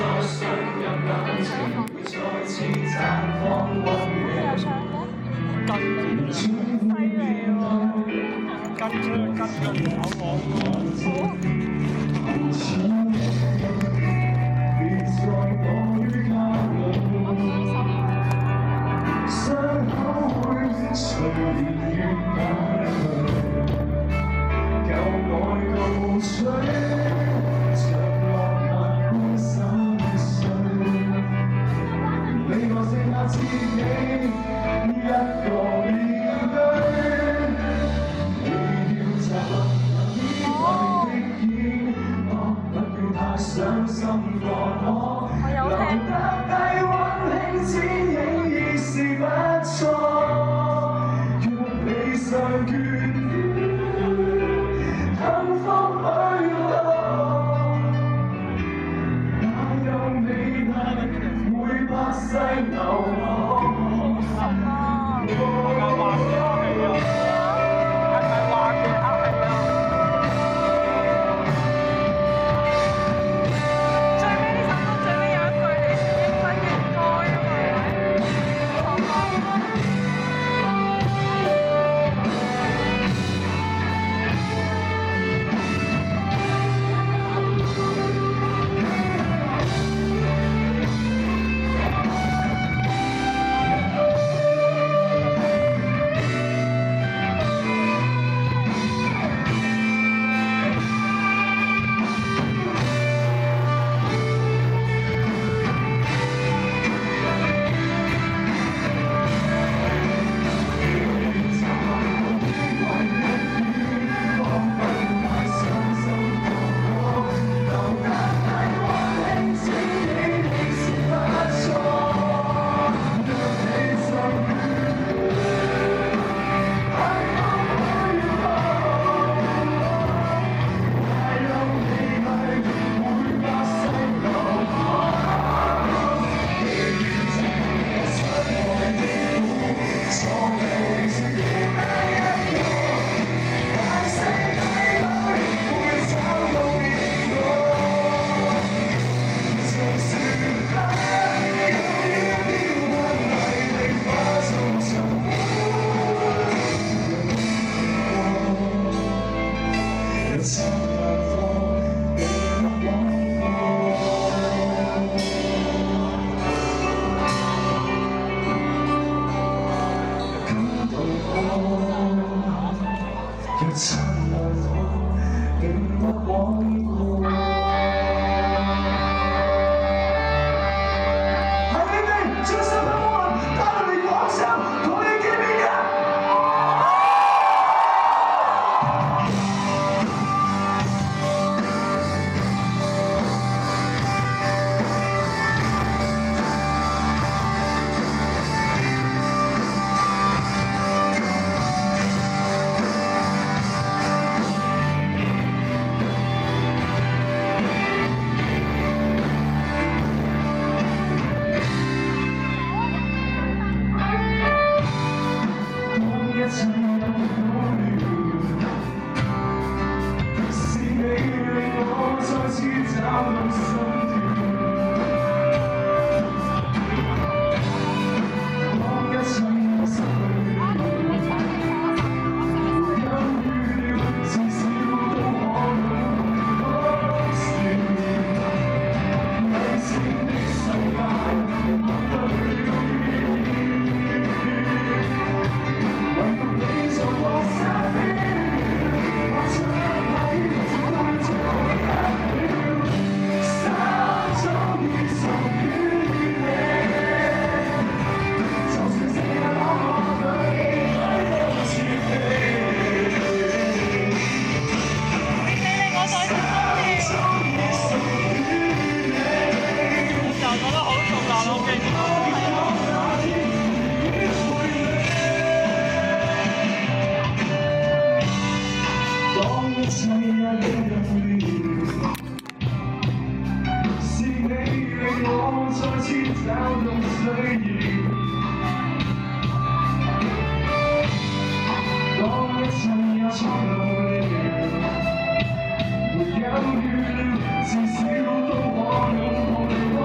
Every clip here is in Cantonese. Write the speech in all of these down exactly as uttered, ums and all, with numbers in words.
至少都可擁抱你。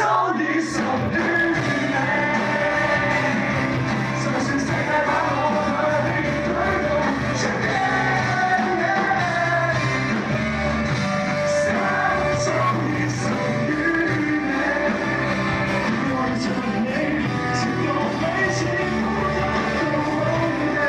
早已屬於你。相信世界把我的你推動全面，想早已屬於你。我的真理，只有悲情不得後悔。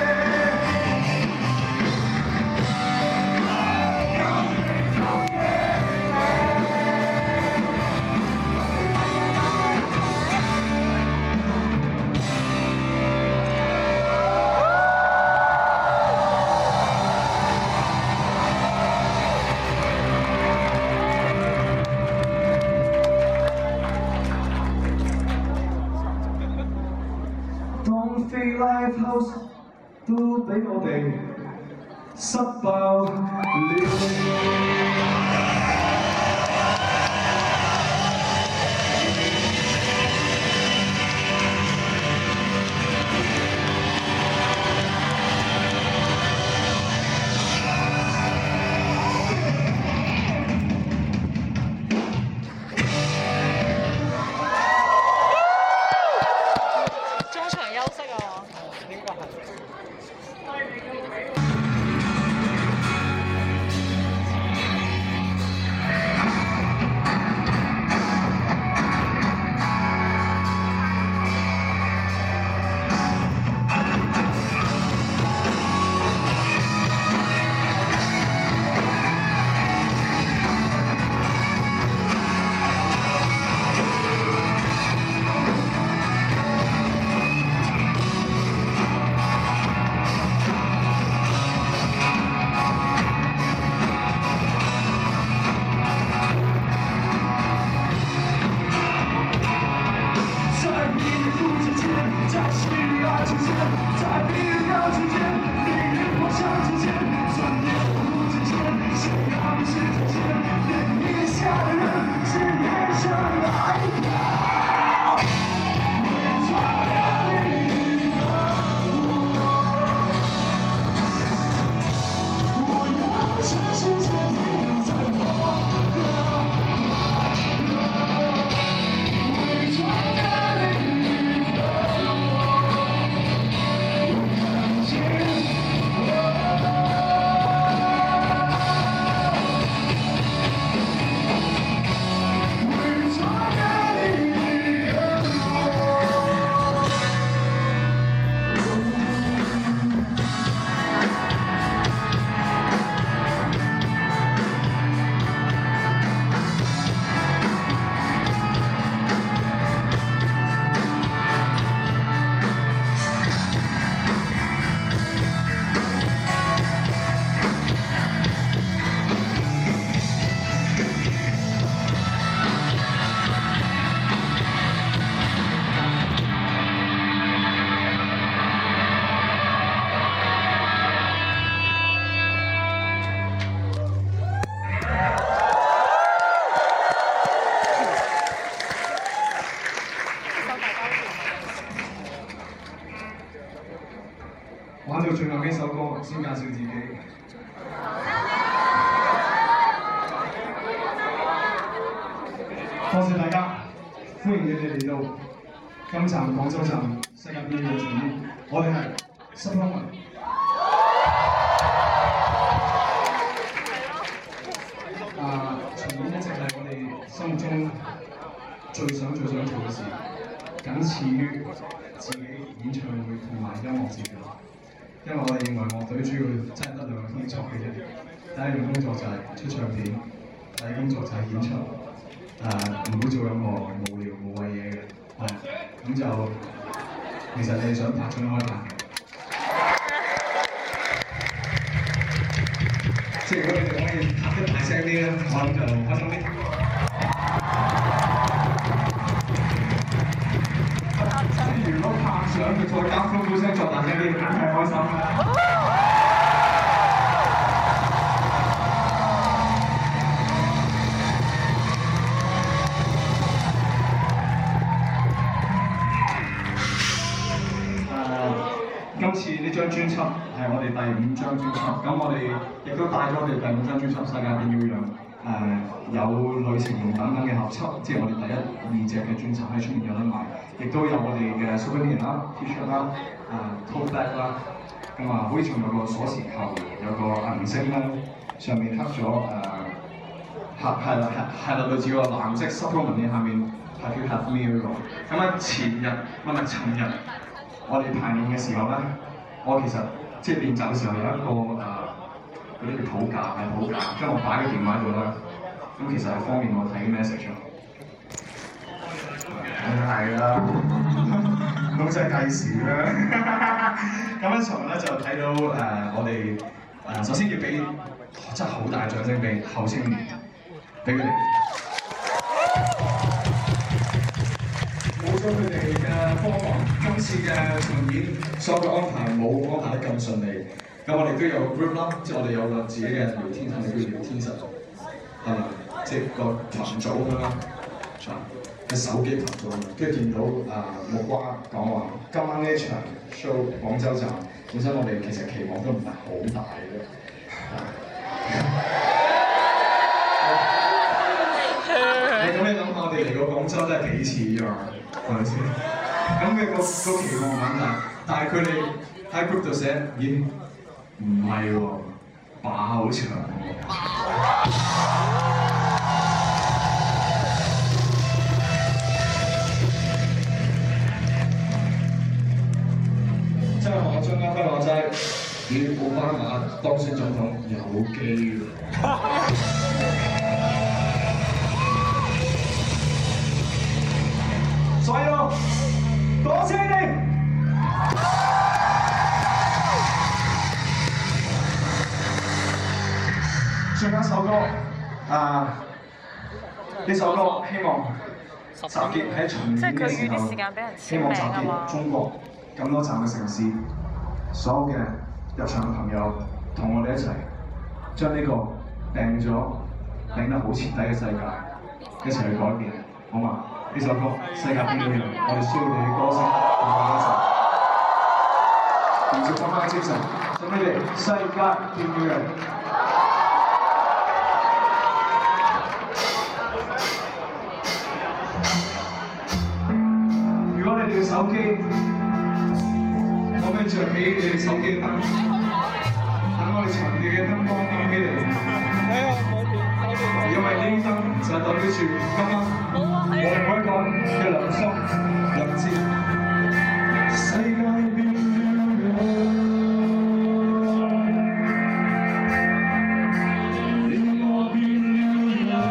當飛 live house 都俾我哋塞爆了。 中場休息啊！應該係。玩到最後呢首歌，先介紹自己。多謝大家，歡迎你哋嚟到今站廣州站世界表演嘅場面，我哋係濕湯雲。啊，場面一直係我哋心目中最想最想做嘅事，僅次於自己演唱會同埋音樂節嘅。因為我哋認為樂隊主要真係得兩樣工作嘅啫，第一樣工作就係出唱片，第二工作就係演出，誒唔會做任何無聊無謂嘢嘅，係咁就其實你哋想拍盡開拍嘅，即係如果你哋可以拍得大聲啲咧，我諗就開心啲。如果拍相佢再加歡呼聲作大聲啲，梗係開心啦！誒，今次呢張專輯係我哋第五張專輯，咁我哋亦都帶咗我哋第五張專輯《世界變了樣》 誒有旅程用等等嘅合輯，即係我哋第一二隻嘅專輯喺出面有得賣，亦都有我哋嘅 souvenir 啦、T-shirt 啦、誒 tote bag 啦，咁啊好似仲有個鎖匙扣，有個銀星啦，上面刻咗誒係係啦係係啦類似個藍色 supplement 嘅下面 Have you had me 嗰個，咁啊前日唔係尋日我哋排練嘅時候咧，我其實即係練習嘅時候有一個誒。嗰啲叫譜架，係譜架，將我擺喺電話度啦。咁其實係方便我睇 message 咯。係啦，老細計時啦。咁一場咧就睇到誒、呃、我哋誒、呃、首先要俾真係好大掌聲俾後青年，俾佢哋。冇咗佢哋嘅幫忙，今次嘅巡演所有嘅安排冇安排得咁順利。咁我哋都有 group 啦，即係我哋有個自己嘅聊天室，叫聊天室，係咪？即係個群組咁啦，係手機群組。跟住見到啊木瓜講話，今晚呢一場 show 廣州站，本身我哋其實期望都唔係好大嘅。咁你諗下，我哋嚟過廣州都係幾次㗎嘛，係咪先？咁嘅個個期望唔大，但係佢哋喺 group 度寫，咦？唔係喎，爆場喎！真係我張家輝話齋，與奧巴馬當選總統有機喎！所以咯，多謝你！最後一首歌，啊！呢首歌希望集結喺巡演嘅時候，希望集結中國咁多站嘅城市，所有嘅入場嘅朋友，同我哋一齊將呢個病咗、病得好徹底嘅世界，一齊去改變，好嘛？呢首歌《世界變了樣》，我哋需要你嘅歌聲同我哋一齊，連續咁樣精神，送俾你《世界變了樣》。手機，可唔可以着起你哋手機燈？等我哋場地嘅燈光燈起嚟。因為呢啲燈就代表住今晚我哋每一個嘅良心、良知。世界變了樣，你我變了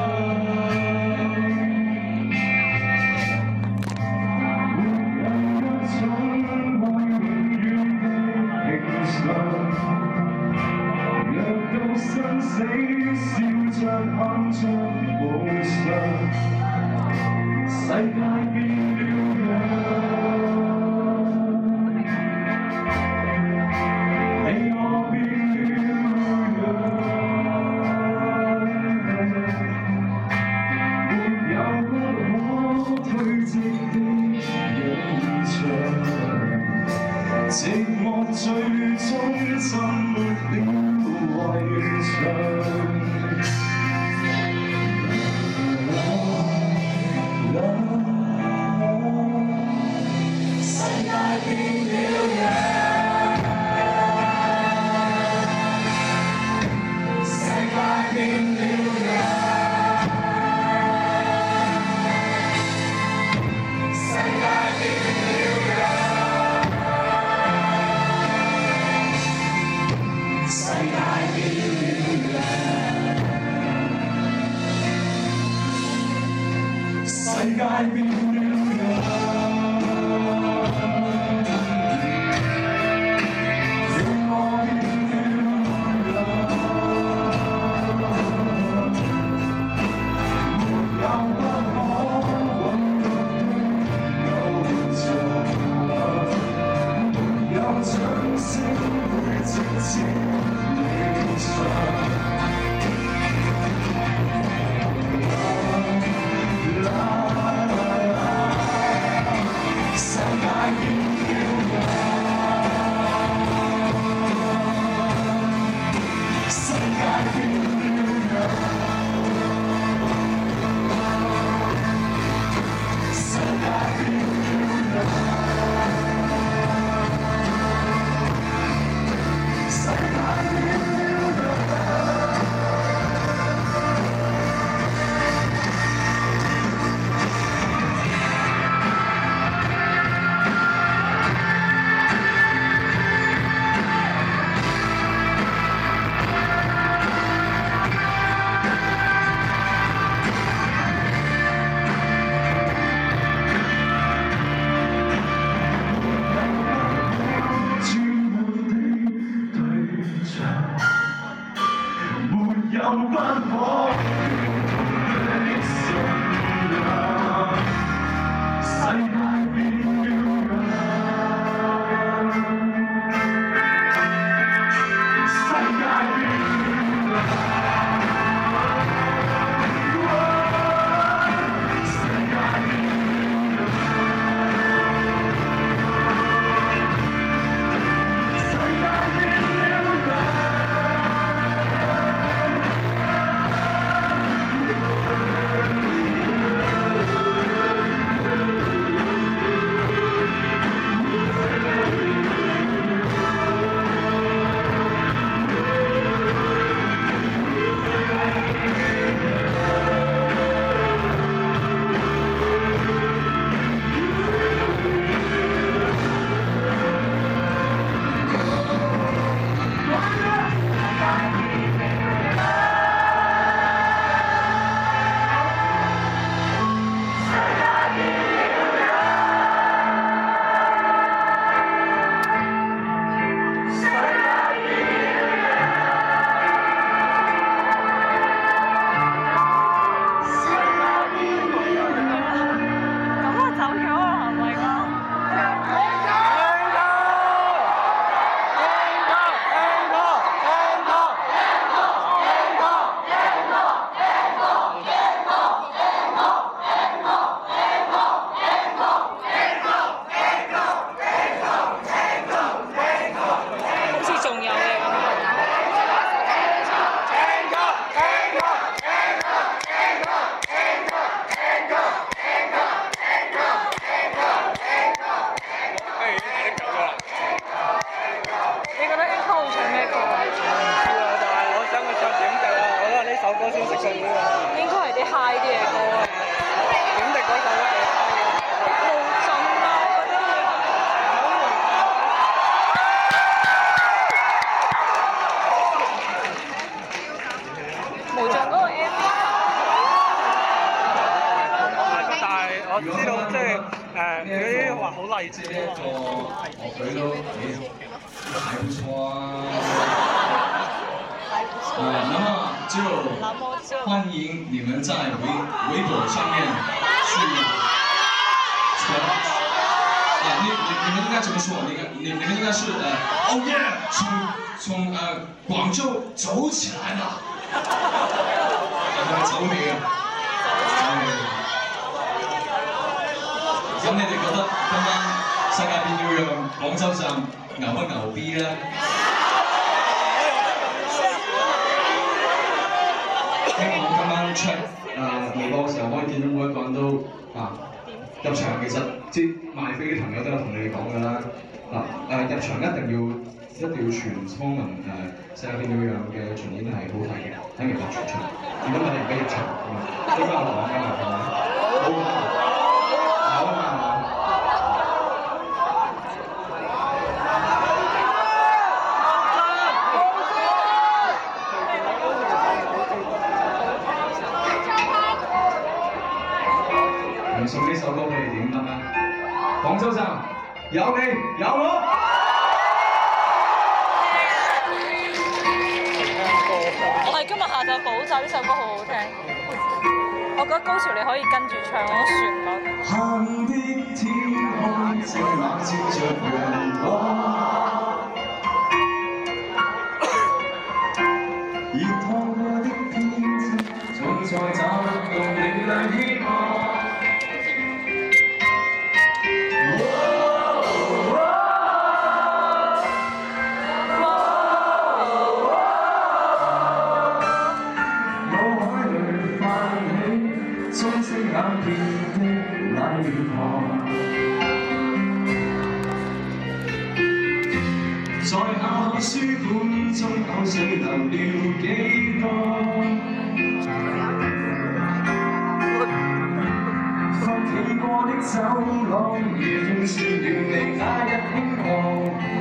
死笑着喊着夢想，世界變了樣，你我變了樣，沒有不可推擠的影像，寂寞最終沉沒了。圍牆。世界變了樣，世界變了樣，世界變了樣，世界。世界變了樣，你我變了樣，沒有不可允許的偶像，沒有掌聲會直接理想。La 我知道即係誒嗰啲話好勵志啊嘛。 樂隊都幾還不錯啊。啊，那麼就歡迎你們在微微博上面去傳啊，你你你們應該怎麼說？你你你們應該是呃，Oh yeah，從從呃廣州走起來了，係咪走起啊？走起。咁你哋覺得今晚世界變了樣，廣州站牛不牛逼咧？希望今晚出誒微博嘅時候，可以見到每一個人都啊入場。其實即賣飛嘅朋友都有同你哋講㗎啦。嗱誒入場一定要一定要全倉文誒世界變了樣嘅巡演係好睇嘅，睇完就全場。如果唔係而家入場，應該有講㗎嘛，係咪？好㗎，有啊嘛。送呢首歌俾你點得啊？廣州站有你有我。 我係今日下晝補習，呢首歌好好聽。我覺得高潮你可以跟住唱嗰個旋律。 黑的天空這晚照着陽光，熱燙過的天際，總在找到你亮希望。在考書本中口水流了幾多？發起過的走廊，如風説了你那日輕狂。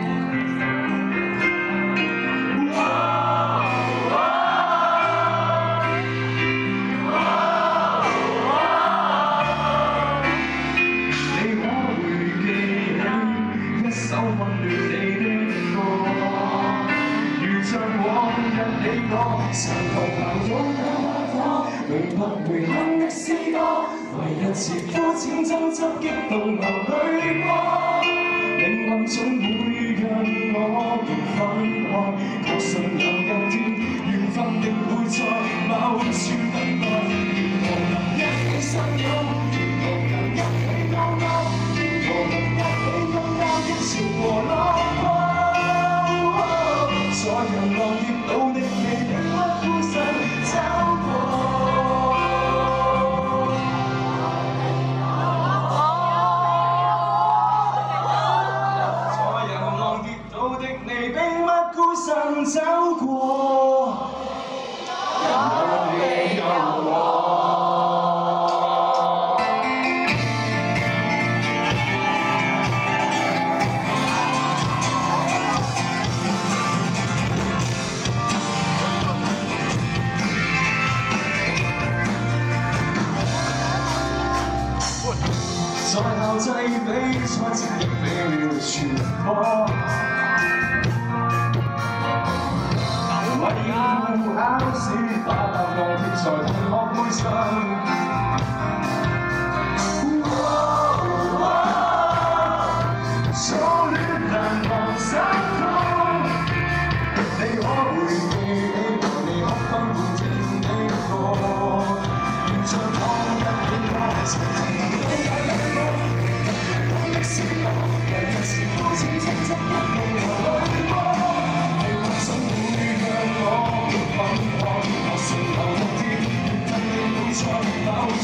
長途行勇敢火，永不回鄉的詩歌，為一次膚淺爭執激動流淚過，命運總會讓我們分開，確信有一天緣分定會在某處等待，如何能一起相擁，如何能一起勾勾，如何能一起擁抱的潮和浪波，在人浪跌倒的你。走過，有你有我。在校際比賽前的秒傳播。考試把答案貼在同學背上，初戀難忘心痛，你可會記起和你哭分半天的歌，如像當日的我曾經都有兩個，講的是我，為一次膚淺爭執一路和淚波，命運總會讓我。分開，我承受一天，緣分你會在某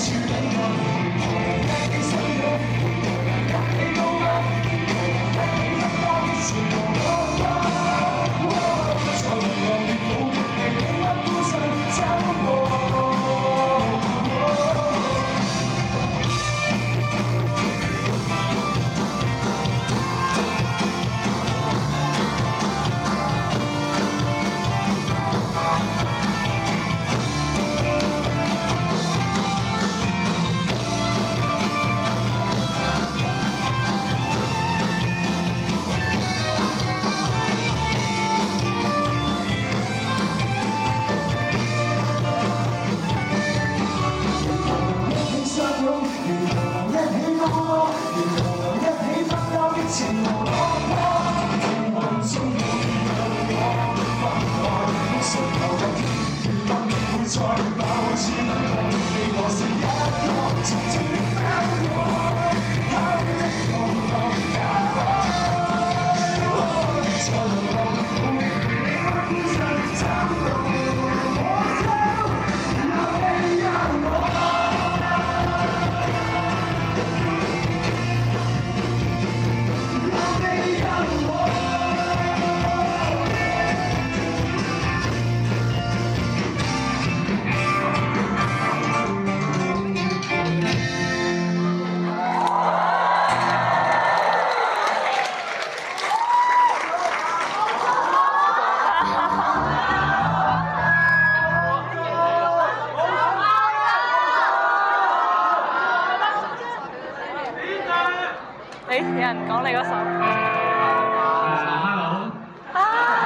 你有人講你嗰首。 Hello。 啊！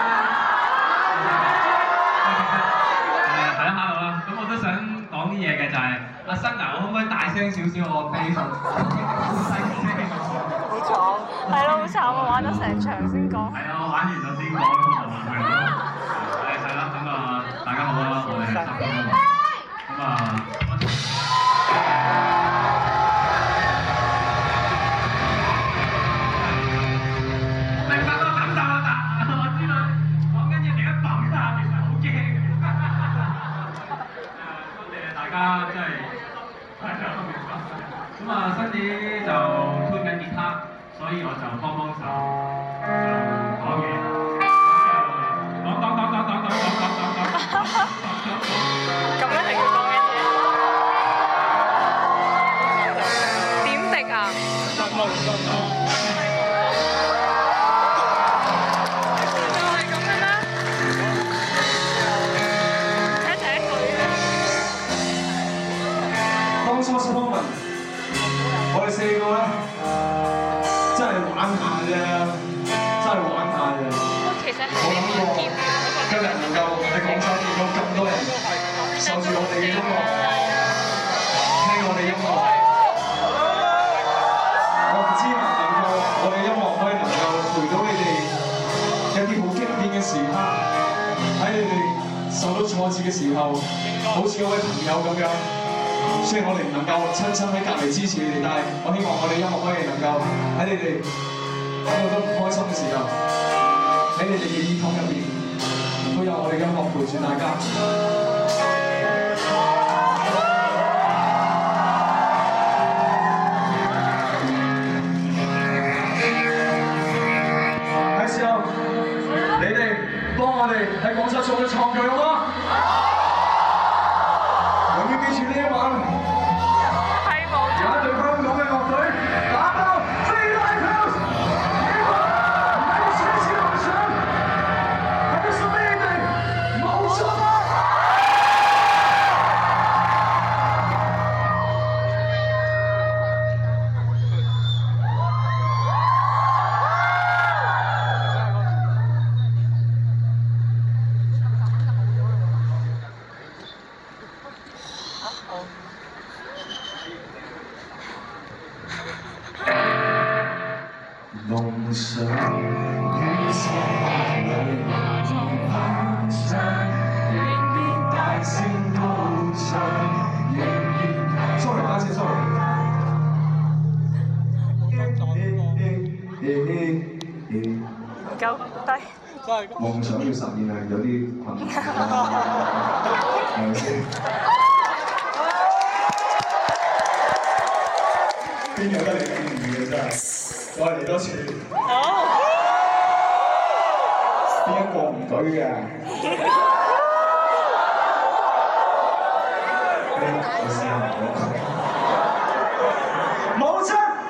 係啦，Hello 啦。咁我都想講啲嘢嘅就係阿新啊，我可唔可以大聲少少我 bass？好細聲。 好慘。係咯，好慘啊！玩咗成場先講。 係啊，我玩完咗先講，係咯。係係啦，咁啊，大家好啦，我哋係十公。咁啊。大家真係係啊，咁啊，新子就推緊吉他，所以我就幫幫手，就講嘢，講講講講講講講講講講。 咁樣係佢講緊嘢。點滴啊？就係咁嘅咩？睇睇佢啊！ 當初 Superman， 我哋四個咧真係玩下啫，真係玩下啫。 其實係冇諗過今日能夠喺廣州見到咁多人受住我哋嘅音樂，聽我哋音樂。我唔知能唔能夠我哋音樂可以能夠陪到你哋一啲好經典嘅時刻，喺你哋受到挫折嘅時候，好似嗰位朋友咁樣。雖然我哋唔能夠親親喺隔離支持你哋，但係我希望我哋音樂可以能夠喺你哋感覺到唔開心嘅時候，喺你哋嘅耳筒入邊都有我哋音樂陪住大家。係時候，你哋幫我哋喺廣州做嘅創舉好嗎？永遠記住呢一晚，有一隊香港嘅樂隊打爆 Three Lighthouse， 呢個唔係個小小夢想，係個屬於你哋，冇錯啦！夢想於漆黑裏仍然鏗鏘，仍然大聲高唱，仍然 sorry 打字 sorry。 唔夠低。 夢想要實現係有啲困難，係咪先？邊有得你咁易嘅真係？再嚟多次。 好。 邊一個唔舉嘅？我試下唔講。冇錯。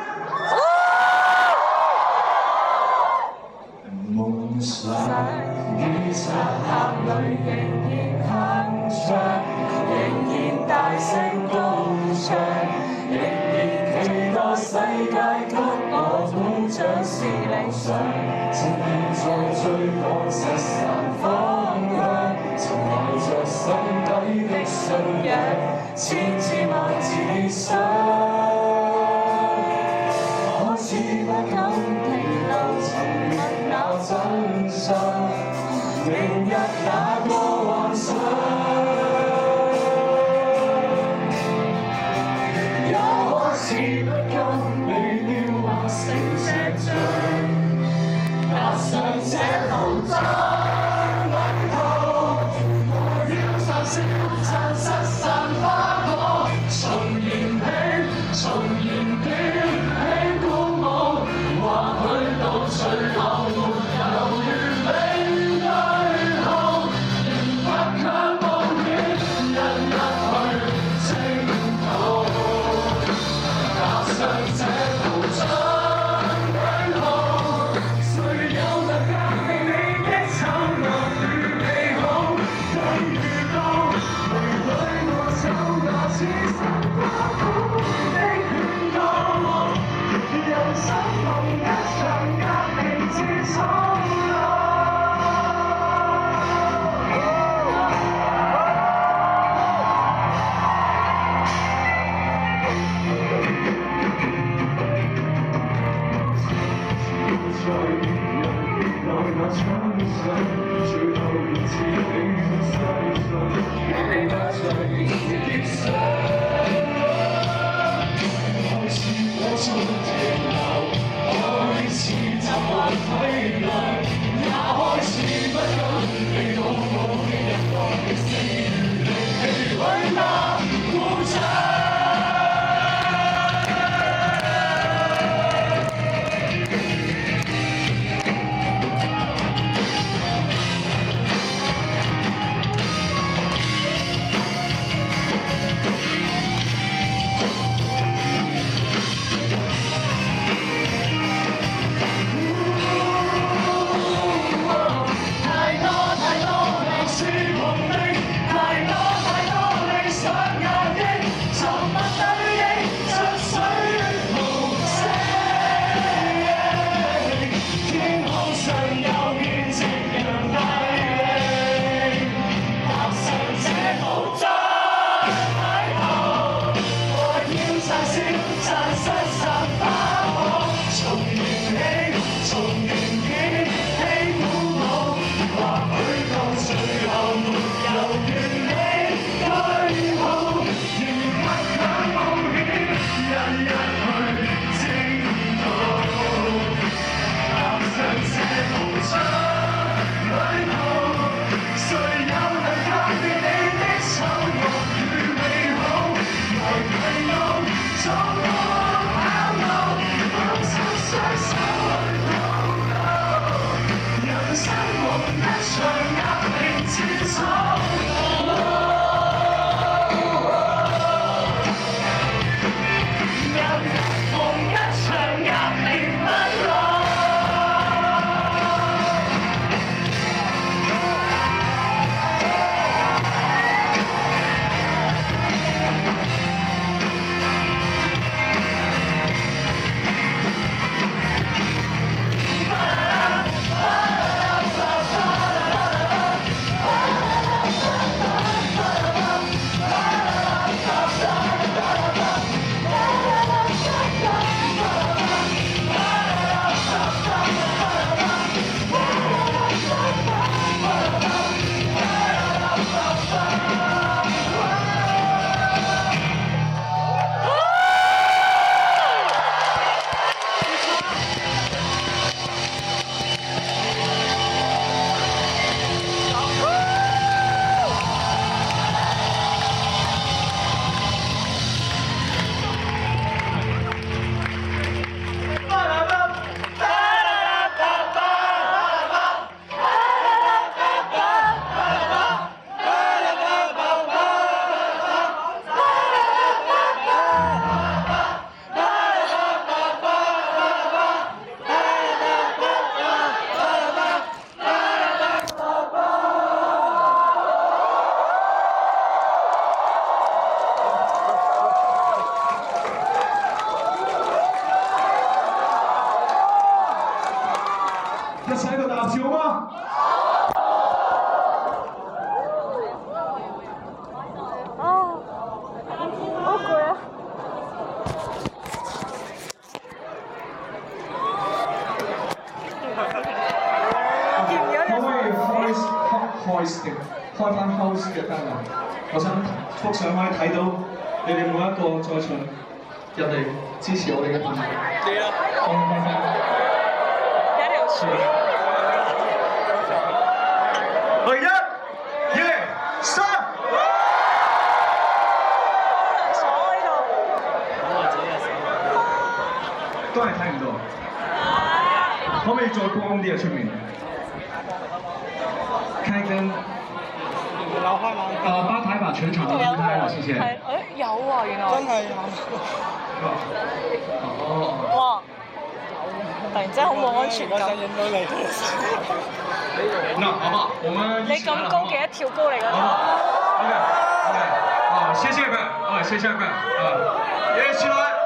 夢想於漆黑裏仍然鏗鏘，仍然大聲高唱，仍然期待世界給我捧獎是理想，正在追趕失散方向，曾懷着心底的信仰，千次萬次想，可是不敢停留，尋覓那真相，明日那個幻想。是不甘你雕畫成石像，踏上這途障旅途，我要暫時殘失散花火，重燃起，重燃點起鼓舞，或許到最後沒有完美對號，仍不強冒險，引入去征途。踏上這途障旅途，誰有能革命你的醜惡與美好？際遇到離裏我走那似神花苦的勸告，人生。 中停留，開始習慣體諒，也開始不甘被討好的人來死與力氣餒那故障。 一齊喺度大合照嗎？ 哦，好攰啊！ 可唔可以開開開開翻 house 嘅燈啊？我想幅相可以睇到你哋每一個在場入嚟支持我哋嘅朋友。係啊，歡迎大家。 有一條樹。 去一、二、三。 鎖呢度。 都係睇唔到。可唔可以再光啲啊？出面。開燈。呃，吧台把全場都燈開了，謝謝。 係，誒有啊，原來。真係有。 哦。 哇！突然之間好冇安全感。 那好不好？我們你咁高嘅一跳高嚟㗎。 OK OK，好，謝謝各位，啊，謝謝各位，啊，一起來。